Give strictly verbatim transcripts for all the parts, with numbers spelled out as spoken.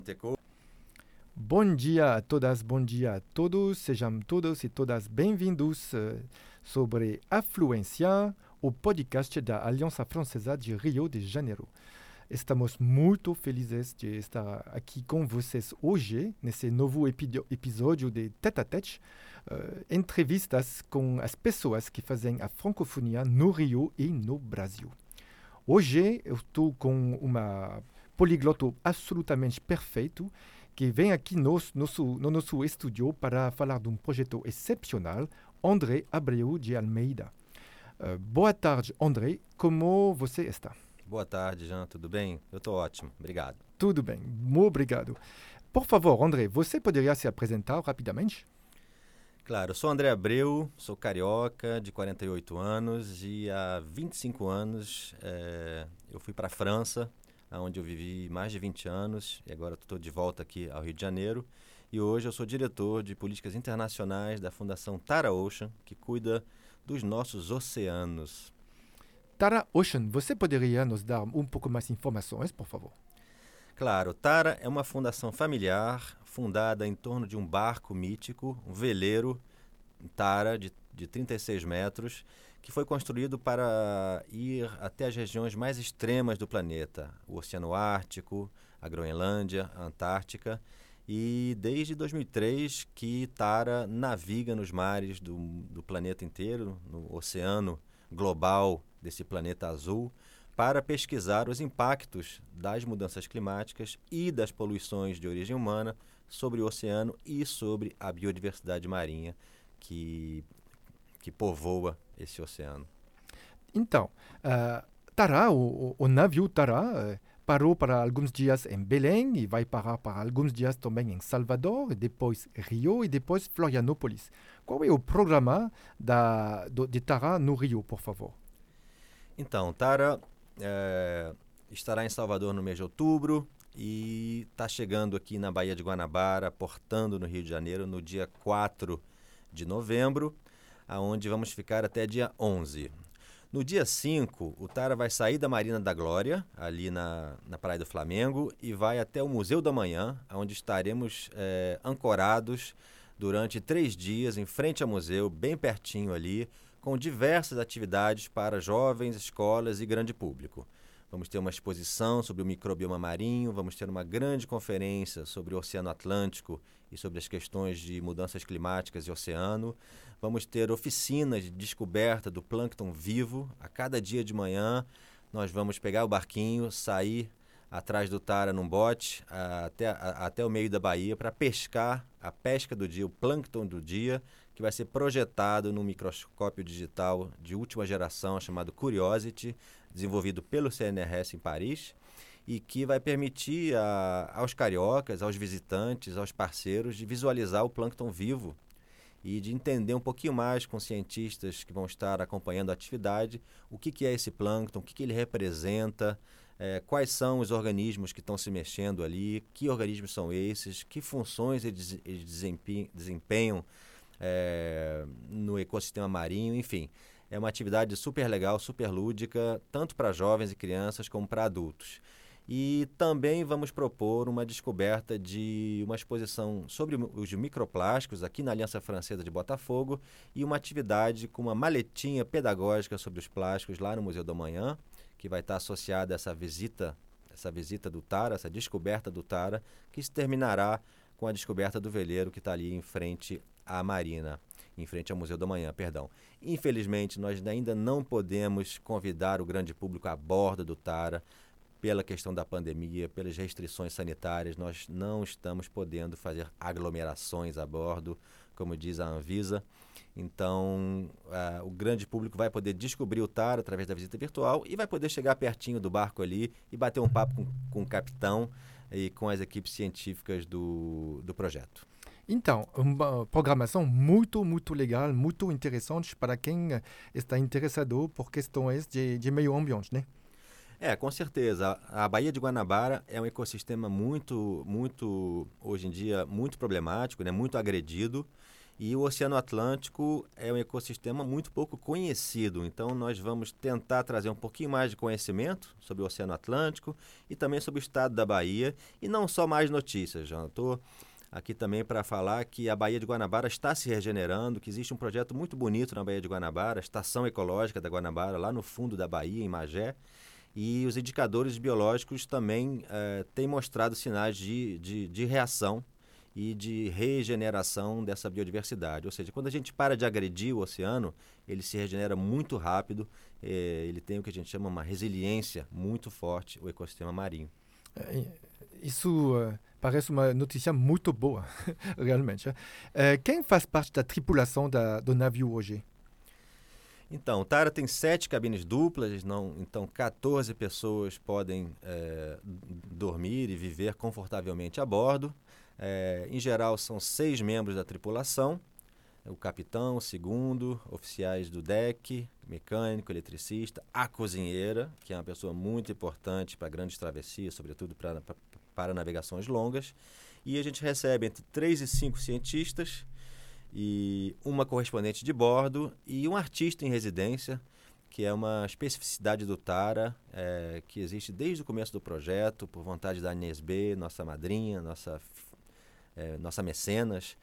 Teco. Bom dia a todas, bom dia a todos. Sejam todos e todas bem-vindos uh, sobre Afluência, o podcast da Aliança Francesa de Rio de Janeiro. Estamos muito felizes de estar aqui com vocês hoje, nesse novo epi- episódio de Tête a Tête, uh, entrevistas com as pessoas que fazem a francofonia no Rio e no Brasil. Hoje eu estou com uma poligloto absolutamente perfeito que vem aqui nos, nosso, no nosso estúdio para falar de um projeto excepcional, André Abreu de Almeida. Uh, boa tarde, André. Como você está? Boa tarde, Jean. Tudo bem? Eu estou ótimo. Obrigado. Tudo bem. Muito obrigado. Por favor, André, você poderia se apresentar rapidamente? Claro, eu sou André Abreu, sou carioca, de quarenta e oito anos e há vinte e cinco anos é, eu fui para a França, onde eu vivi mais de vinte anos e agora estou de volta aqui ao Rio de Janeiro. E hoje eu sou diretor de políticas internacionais da Fundação Tara Ocean, que cuida dos nossos oceanos. Tara Ocean, você poderia nos dar um pouco mais de informações, por favor? Claro, Tara é uma fundação familiar fundada em torno de um barco mítico, um veleiro Tara de, de trinta e seis metros, que foi construído para ir até as regiões mais extremas do planeta, o Oceano Ártico, a Groenlândia, a Antártica. E desde dois mil e três que Tara naviga nos mares do, do planeta inteiro, no oceano global desse planeta azul, para pesquisar os impactos das mudanças climáticas e das poluições de origem humana sobre o oceano e sobre a biodiversidade marinha que, que povoa esse oceano. Então, uh, Tara, o, o navio Tara, uh, parou para alguns dias em Belém e vai parar para alguns dias também em Salvador, e depois Rio e depois Florianópolis. Qual é o programa da, do, de Tara no Rio, por favor? Então, Tara é, estará em Salvador no mês de outubro e está chegando aqui na Baía de Guanabara, portando no Rio de Janeiro no dia quatro de novembro, aonde vamos ficar até dia onze. No dia cinco, o Tara vai sair da Marina da Glória, ali na, na Praia do Flamengo, e vai até o Museu da Manhã, onde estaremos é, ancorados durante três dias em frente ao museu, bem pertinho ali, com diversas atividades para jovens, escolas e grande público. Vamos ter uma exposição sobre o microbioma marinho, vamos ter uma grande conferência sobre o Oceano Atlântico e sobre as questões de mudanças climáticas e oceano. Vamos ter oficinas de descoberta do plâncton vivo. A cada dia de manhã nós vamos pegar o barquinho, sair atrás do Tara num bote até, a, até o meio da baía para pescar a pesca do dia, o plâncton do dia, que vai ser projetado num microscópio digital de última geração chamado Curiosity, desenvolvido pelo C N R S em Paris, e que vai permitir a, aos cariocas, aos visitantes, aos parceiros, de visualizar o plâncton vivo e de entender um pouquinho mais com cientistas que vão estar acompanhando a atividade, o que, que é esse plâncton, o que, que ele representa, é, quais são os organismos que estão se mexendo ali, que organismos são esses, que funções eles, eles desempenham, desempenham é, no ecossistema marinho, enfim. É uma atividade super legal, super lúdica, tanto para jovens e crianças como para adultos. E também vamos propor uma descoberta de uma exposição sobre os microplásticos aqui na Aliança Francesa de Botafogo e uma atividade com uma maletinha pedagógica sobre os plásticos lá no Museu da Manhã, que vai estar associada a essa visita, essa visita do Tara, essa descoberta do Tara, que se terminará com a descoberta do veleiro que está ali em frente à Marina, em frente ao Museu da Manhã, perdão. Infelizmente, nós ainda não podemos convidar o grande público a bordo do Tara, pela questão da pandemia, pelas restrições sanitárias, nós não estamos podendo fazer aglomerações a bordo, como diz a Anvisa. Então, uh, o grande público vai poder descobrir o Tara através da visita virtual e vai poder chegar pertinho do barco ali e bater um papo com, com o capitão e com as equipes científicas do, do projeto. Então, uma programação muito, muito legal, muito interessante para quem está interessado por questões de, de meio ambiente, né? É, com certeza. A Baía de Guanabara é um ecossistema muito, muito, hoje em dia, muito problemático, né? Muito agredido. E o Oceano Atlântico é um ecossistema muito pouco conhecido, então nós vamos tentar trazer um pouquinho mais de conhecimento sobre o Oceano Atlântico e também sobre o estado da Bahia, e não só mais notícias, já estou aqui também para falar que a Baía de Guanabara está se regenerando, que existe um projeto muito bonito na Baía de Guanabara, a Estação Ecológica da Guanabara, lá no fundo da Bahia, em Magé, e os indicadores biológicos também eh, têm mostrado sinais de, de, de reação e de regeneração dessa biodiversidade. Ou seja, quando a gente para de agredir o oceano, ele se regenera muito rápido, eh, ele tem o que a gente chama uma resiliência muito forte, o ecossistema marinho. Isso uh, parece uma notícia muito boa, realmente. Uh, quem faz parte da tripulação da, do navio hoje? Então, o Tara tem sete cabines duplas, não, então quatorze pessoas podem é, dormir e viver confortavelmente a bordo. É, em geral, são seis membros da tripulação, o capitão, o segundo, oficiais do deck, mecânico, eletricista, a cozinheira, que é uma pessoa muito importante para grandes travessias, sobretudo para, para, para navegações longas. E a gente recebe entre três e cinco cientistas, e uma correspondente de bordo e um artista em residência, que é uma especificidade do Tara, é, que existe desde o começo do projeto, por vontade da Agnès B, nossa madrinha, nossa, é, nossa mecenas.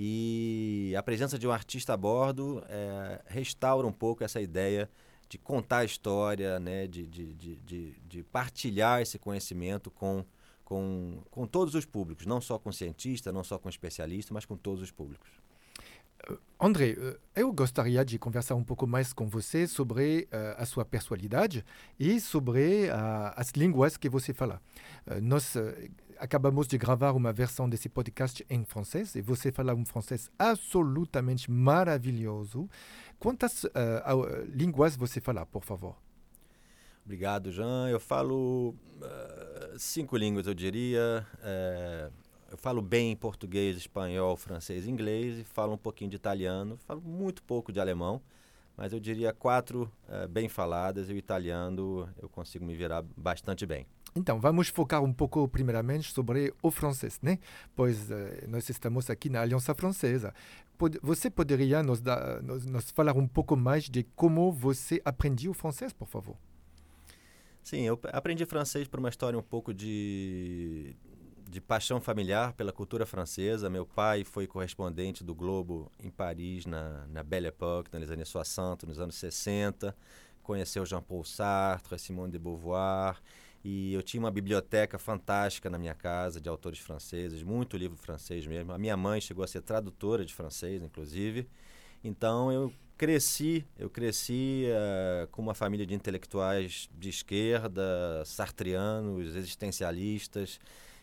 E a presença de um artista a bordo é, restaura um pouco essa ideia de contar a história, né, de, de, de, de, de partilhar esse conhecimento com, com, com todos os públicos, não só com cientista, não só com especialista, mas com todos os públicos. André, eu gostaria de conversar um pouco mais com você sobre uh, a sua personalidade e sobre uh, as línguas que você fala. Uh, nós uh, acabamos de gravar uma versão desse podcast em francês e você fala um francês absolutamente maravilhoso. Quantas uh, uh, línguas você fala, por favor? Obrigado, Jean. Eu falo uh, cinco línguas, eu diria. Uh, Eu falo bem português, espanhol, francês e inglês, e falo um pouquinho de italiano, falo muito pouco de alemão, mas eu diria quatro uh, bem faladas, e o italiano eu consigo me virar bastante bem. Então, vamos focar um pouco primeiramente sobre o francês, né? Pois uh, nós estamos aqui na Aliança Francesa. Pod- você poderia nos, dar, nos, nos falar um pouco mais de como você aprendeu o francês, por favor? Sim, eu aprendi francês por uma história um pouco de... de paixão familiar pela cultura francesa. Meu pai foi correspondente do Globo em Paris, na, na Belle Époque, nas années soixante, nos anos sessenta. Conheceu Jean-Paul Sartre, Simone de Beauvoir. E eu tinha uma biblioteca fantástica na minha casa de autores franceses, muito livro francês mesmo. A minha mãe chegou a ser tradutora de francês, inclusive. Então eu cresci, eu cresci uh, com uma família de intelectuais de esquerda, sartreanos, existencialistas.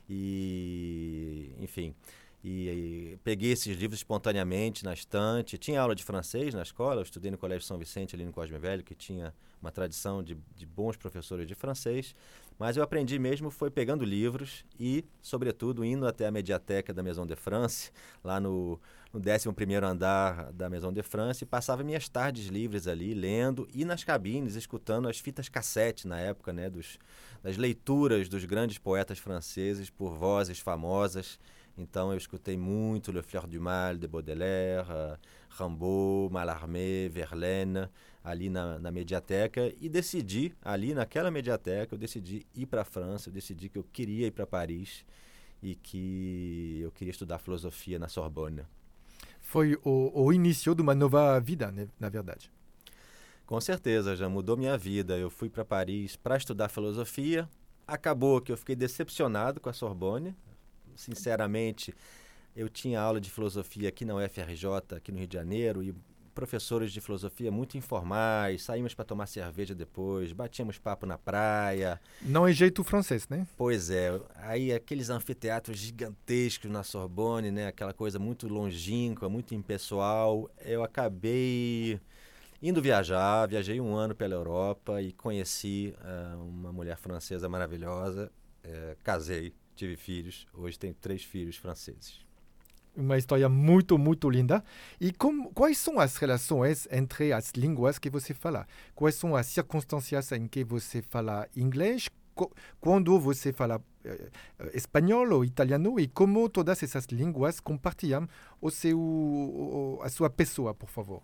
E, enfim, e, e peguei esses livros espontaneamente na estante. Tinha aula de francês na escola, eu estudei no Colégio São Vicente, ali no Cosme Velho, que tinha uma tradição de, de bons professores de francês. Mas eu aprendi mesmo foi pegando livros e, sobretudo, indo até a mediateca da Maison de France, lá no, no décimo primeiro andar da Maison de France, e passava minhas tardes livres ali, lendo, e nas cabines, escutando as fitas cassete, na época, né, dos, das leituras dos grandes poetas franceses por vozes famosas. Então eu escutei muito Le Fleur du Mal, de Baudelaire, uh, Rimbaud, Mallarmé, Verlaine, ali na, na mediateca, e decidi, ali naquela mediateca, eu decidi ir para a França, eu decidi que eu queria ir para Paris e que eu queria estudar filosofia na Sorbonne. Foi o, o início de uma nova vida, né, na verdade. Com certeza, já mudou minha vida. Eu fui para Paris para estudar filosofia, acabou que eu fiquei decepcionado com a Sorbonne. Sinceramente, eu tinha aula de filosofia aqui na U F R J, aqui no Rio de Janeiro, e professores de filosofia muito informais, saímos para tomar cerveja depois, batíamos papo na praia. Não é jeito francês, né? Pois é, aí aqueles anfiteatros gigantescos na Sorbonne, né, aquela coisa muito longínqua, muito impessoal. Eu acabei indo viajar, viajei um ano pela Europa e conheci uh, uma mulher francesa maravilhosa, uh, casei. Tive filhos, hoje tenho três filhos franceses. Uma história muito, muito linda. E como, quais são as relações entre as línguas que você fala? Quais são as circunstâncias em que você fala inglês? co- quando você fala eh, eh, espanhol ou italiano e como todas essas línguas compartilham o seu, o- a sua pessoa, por favor.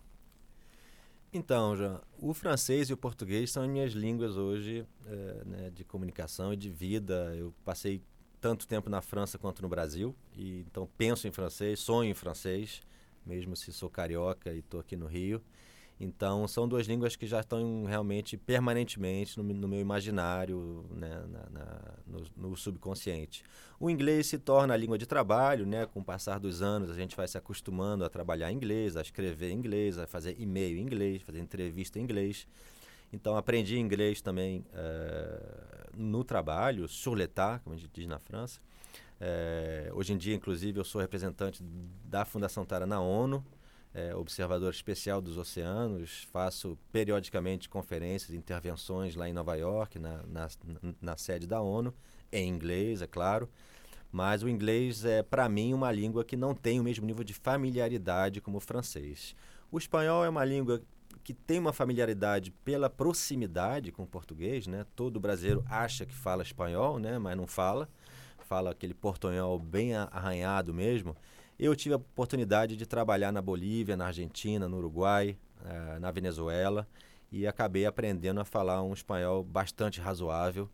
Então, João, o francês e o português são as minhas línguas hoje, eh, né, de comunicação e de vida. Eu passei tanto tempo na França quanto no Brasil, e então penso em francês, sonho em francês, mesmo se sou carioca e estou aqui no Rio. Então, são duas línguas que já estão realmente permanentemente no, no meu imaginário, né, na, na, no, no subconsciente. O inglês se torna a língua de trabalho, né? Com o passar dos anos, a gente vai se acostumando a trabalhar em inglês, a escrever em inglês, a fazer e-mail em inglês, fazer entrevista em inglês. Então, aprendi inglês também uh, no trabalho, sur le tas, como a gente diz na França. Uh, hoje em dia, inclusive, eu sou representante da Fundação Tara na ONU, É, observador especial dos oceanos, faço periodicamente conferências, intervenções lá em Nova York, na, na, na sede da ONU, em inglês, é claro, mas o inglês é, para mim, uma língua que não tem o mesmo nível de familiaridade como o francês. O espanhol é uma língua que tem uma familiaridade pela proximidade com o português, né? Todo brasileiro acha que fala espanhol, né? Mas não fala, fala aquele portunhol bem arranhado mesmo. Eu tive a oportunidade de trabalhar na Bolívia, na Argentina, no Uruguai, uh, na Venezuela, e acabei aprendendo a falar um espanhol bastante razoável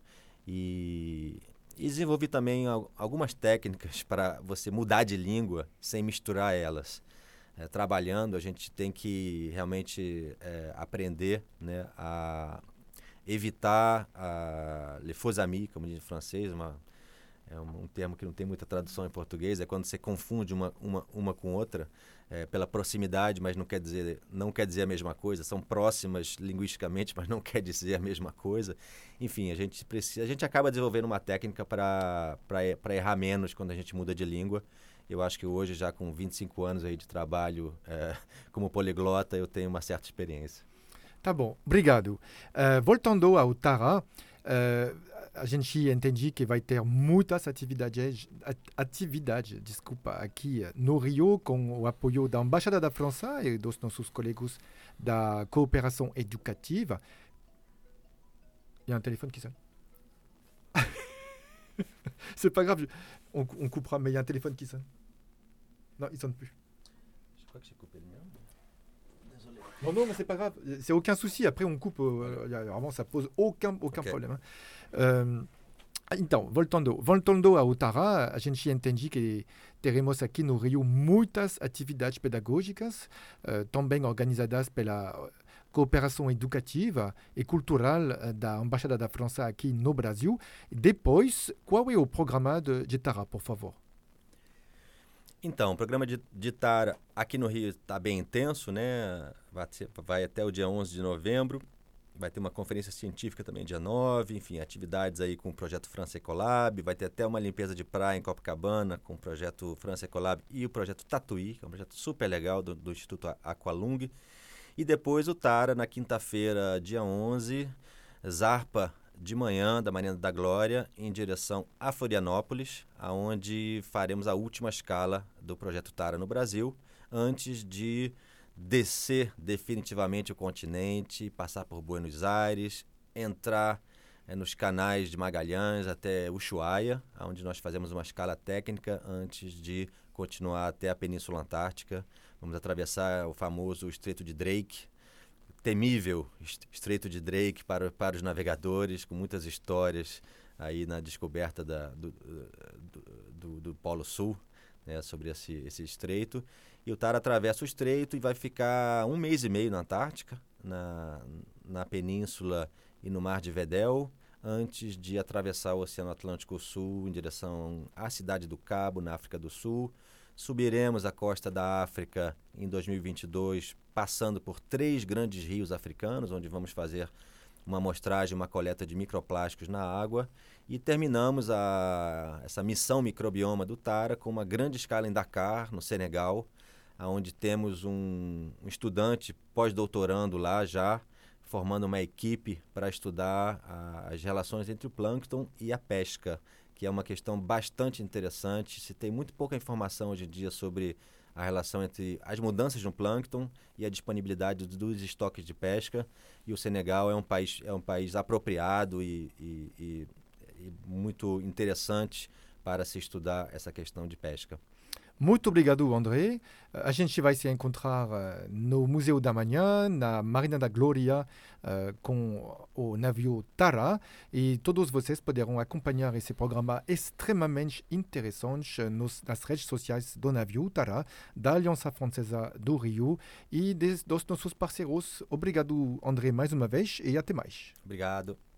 e, e desenvolvi também al- algumas técnicas para você mudar de língua sem misturar elas. Uh, trabalhando, a gente tem que realmente uh, aprender, né, a evitar a les faux amis, como diz em francês, uma É um, um termo que não tem muita tradução em português, é quando você confunde uma, uma, uma com outra, é, pela proximidade, mas não quer dizer, não quer dizer a mesma coisa. São próximas linguisticamente, mas não quer dizer a mesma coisa. Enfim, a gente, precisa, a gente acaba desenvolvendo uma técnica para errar menos quando a gente muda de língua. Eu acho que hoje, já com vinte e cinco anos aí de trabalho é, como poliglota, eu tenho uma certa experiência. Tá bom, obrigado. Eh, voltando ao Tara, eh, a gente entende que vai ter muitas atividades, at- atividades desculpa, aqui eh, no Rio, com o apoio da Embaixada da França e dos nossos colegas da cooperação educativa. Il y a un téléphone qui sonne. C'est pas grave, on, on coupera, mais il y a un téléphone qui sonne. Non, il sonne plus. Je crois que j'ai coupé le mien. Désolé. Non, non, mais c'est pas grave, c'est aucun souci. Après, on coupe. Euh, y a- vraiment, ça pose aucun, aucun Ok. problème. hein. Euh, então, voltando, voltando ao Tara, a gente entende que teremos aqui no Rio muitas atividades pedagógicas, eh, também organizadas pela cooperação educativa e cultural eh, da Embaixada da França aqui no Brasil. Depois, qual é o programa de, de Tara, por favor? Então, o programa de, de Tara aqui no Rio está bem intenso, né? Vai, ser- vai até o dia onze de novembro. Vai ter uma conferência científica também dia nove, enfim, atividades aí com o projeto França Ecolab. Vai ter até uma limpeza de praia em Copacabana com o projeto França Ecolab e o projeto Tatuí, que é um projeto super legal do, do Instituto Aqualung. E depois o Tara, na quinta-feira, dia onze, zarpa de manhã, da Marina da Glória, em direção a Florianópolis, aonde faremos a última escala do projeto Tara no Brasil, antes de descer definitivamente o continente, passar por Buenos Aires, entrar é, nos canais de Magalhães até Ushuaia, onde nós fazemos uma escala técnica antes de continuar até a Península Antártica. Vamos atravessar o famoso Estreito de Drake, temível Estreito de Drake para, para os navegadores, com muitas histórias aí na descoberta da, do, do, do, do Polo Sul, né, sobre esse, esse estreito. E o Tara atravessa o estreito e vai ficar um mês e meio na Antártica, na, na Península e no Mar de Weddell, antes de atravessar o Oceano Atlântico Sul em direção à Cidade do Cabo, na África do Sul. Subiremos a costa da África em dois mil e vinte e dois, passando por três grandes rios africanos, onde vamos fazer uma amostragem, uma coleta de microplásticos na água. E terminamos a, essa missão microbioma do Tara com uma grande escala em Dakar, no Senegal, onde temos um, um estudante pós-doutorando lá já, formando uma equipe para estudar a, as relações entre o plâncton e a pesca, que é uma questão bastante interessante. Se tem muito pouca informação hoje em dia sobre a relação entre as mudanças no plâncton e a disponibilidade dos estoques de pesca, e o Senegal é um país, é um país apropriado e, e, e e muito interessante para se estudar essa questão de pesca. Muito obrigado, André. A gente vai se encontrar uh, no Museu da Manhã, na Marina da Glória, uh, com o navio Tara. E todos vocês poderão acompanhar esse programa extremamente interessante nos, nas redes sociais do navio Tara, da Aliança Francesa do Rio e des, dos nossos parceiros. Obrigado, André, mais uma vez e até mais. Obrigado.